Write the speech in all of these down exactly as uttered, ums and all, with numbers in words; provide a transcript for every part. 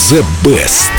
The Best.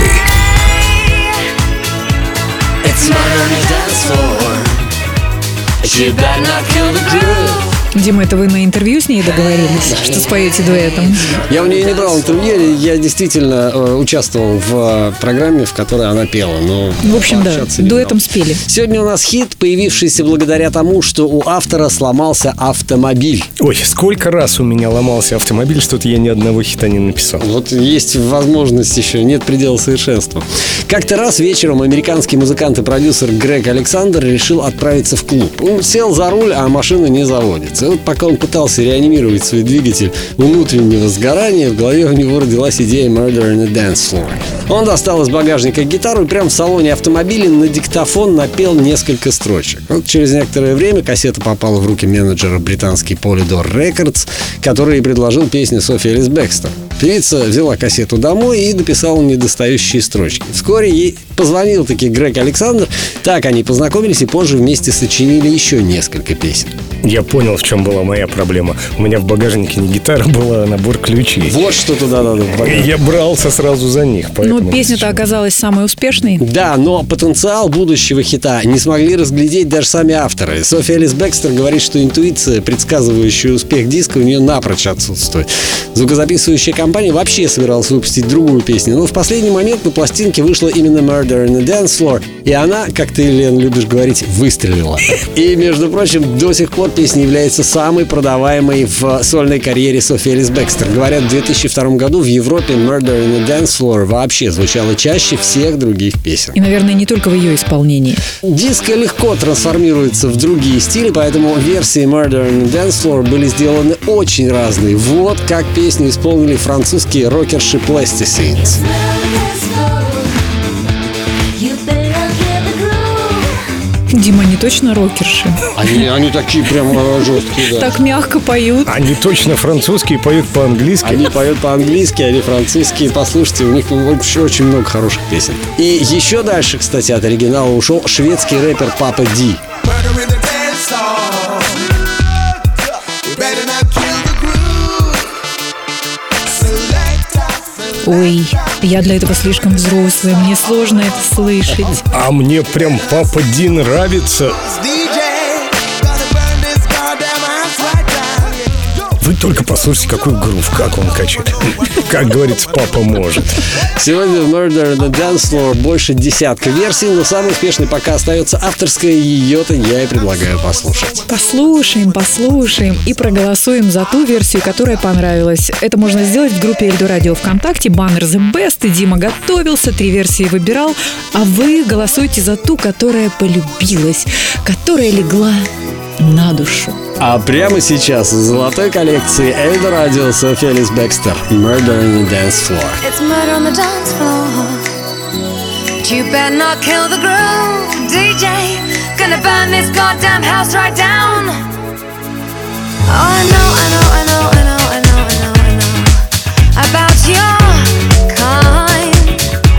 Дима, это вы на интервью с ней договорились, что споете дуэтом? Я у нее не брал интервью, я действительно э, участвовал в э, программе, в которой она пела. Но в общем, да, дуэтом спели. Сегодня у нас хит, появившийся благодаря тому, что у автора сломался автомобиль. Ой, сколько раз у меня ломался автомобиль, что-то я ни одного хита не написал. Вот есть возможность еще, нет предела совершенства. Как-то раз вечером американский музыкант и продюсер Грег Александр решил отправиться в клуб. Он сел за руль, а машина не заводится. И вот пока он пытался реанимировать свой двигатель внутреннего сгорания, в голове у него родилась идея «Murder in a Dance Floor». Он достал из багажника гитару и прямо в салоне автомобиля на диктофон напел несколько строчек. Вот через некоторое время кассета попала в руки менеджера британский Polydor Records, который и предложил песню Софи Элис Бекстер. Певица взяла кассету домой и дописала недостающие строчки. Вскоре ей позвонил таки Грег Александр. Так они познакомились и позже вместе сочинили еще несколько песен. Я понял, в чем была моя проблема. У меня в багажнике не гитара была, а набор ключей. Вот что туда надо в багажник. Я брался сразу за них. Но песня-то оказалась самой успешной. Да, но потенциал будущего хита не смогли разглядеть даже сами авторы. Софи Элис Бекстер говорит, что интуиция, предсказывающая успех диска, у нее напрочь отсутствует. Звукозаписывающая компания вообще собиралась выпустить другую песню, но в последний момент на пластинке вышла именно «Murder in a Dance Floor», и она, как ты, Лен, любишь говорить, выстрелила. И, между прочим, до сих пор песня является самой продаваемой в сольной карьере Софи Элис Бекстер. Говорят, в две тысячи втором году в Европе «Murder in a Dance Floor» вообще звучала чаще всех других песен. И, наверное, не только в ее исполнении. Диско легко трансформируется в другие стили, поэтому версии «Murder in a Dance Floor» были сделаны очень разные. Вот как песню исполнили французские рокерши Plasticines. Дима, они точно рокерши? Они, они такие прям жесткие, да. Так мягко поют. Они точно французские, поют по-английски. Они поют по-английски, они французские. Послушайте, у них вообще очень много хороших песен. И еще дальше, кстати, от оригинала ушел шведский рэпер Папа Ди. Ой, я для этого слишком взрослая, мне сложно это слышать. А мне прям Папа Ди нравится. Вы только послушайте, какой грув, как он качает. Как говорится, папа может. Сегодня в «Murder in a Dance Floor» больше десятка версий, но самой успешной пока остается авторская, ее-то я и предлагаю послушать. Послушаем, послушаем и проголосуем за ту версию, которая понравилась. Это можно сделать в группе Эльдо Радио ВКонтакте, баннер The Best, и Дима готовился, три версии выбирал, а вы голосуйте за ту, которая полюбилась, которая легла на душу. А прямо сейчас из золотой коллекции Эльдо Радио Софи Элис Бекстер «Murder in the Dance Floor». It's murder on the dance floor. But you better not kill the groove, D J. Gonna burn this goddamn house right down. Oh, I know, I know, I know, I know, I know, I know, I know about your kind.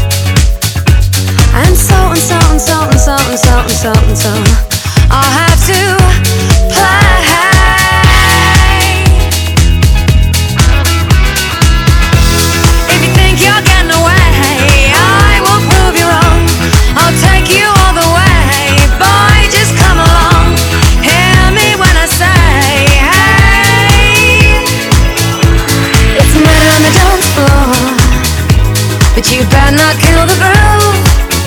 And so and so and so and so and so and so and so I'll have to play. If you think you're getting away, I will prove you wrong. I'll take you all the way. Boy, just come along. Hear me when I say, hey. It's murder on the dance floor, but you better not kill the groove.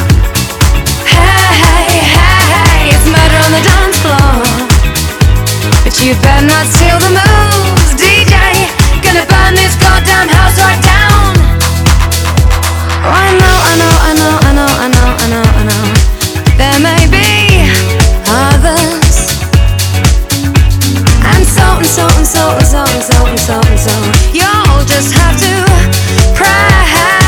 You better not steal the moves, D J. Gonna burn this goddamn house right down. Oh, I know, I know, I know, I know, I know, I know, I know. There may be others, and so and so and so and so and so and so and so. You'll just have to pray.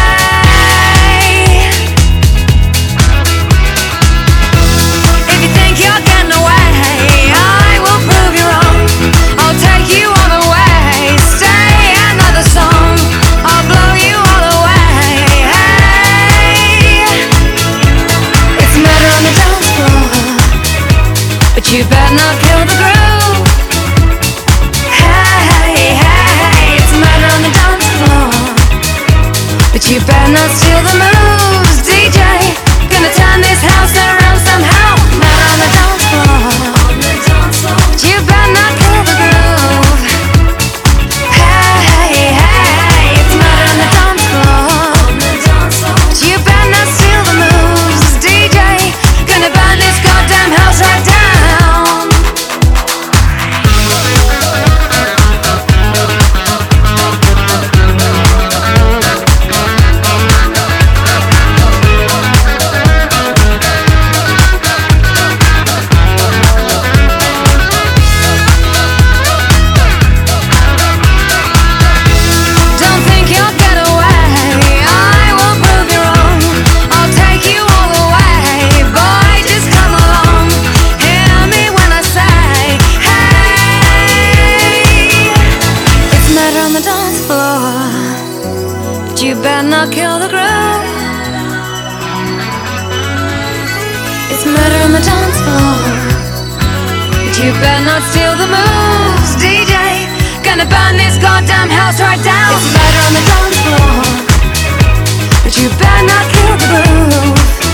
If you think you're getting away, I will prove you wrong. I'll take you all the way. Stay another song. I'll blow you all away. Hey, it's murder on the dance floor, but you better not kill the groove. Hey, hey, hey, it's murder on the dance floor, but you better not steal the moves, D J. Gonna turn this house around somehow. Murder on the dance floor, but you better not kill the groove. Hey, hey, it's murder on the dance floor, but you better not steal the moves, D J. Gonna burn this goddamn house right down. You better not kill the groove. It's murder on the dance floor, but you better not steal the moves, D J. Gonna burn this goddamn house right down. It's murder on the dance floor, but you better not kill the groove.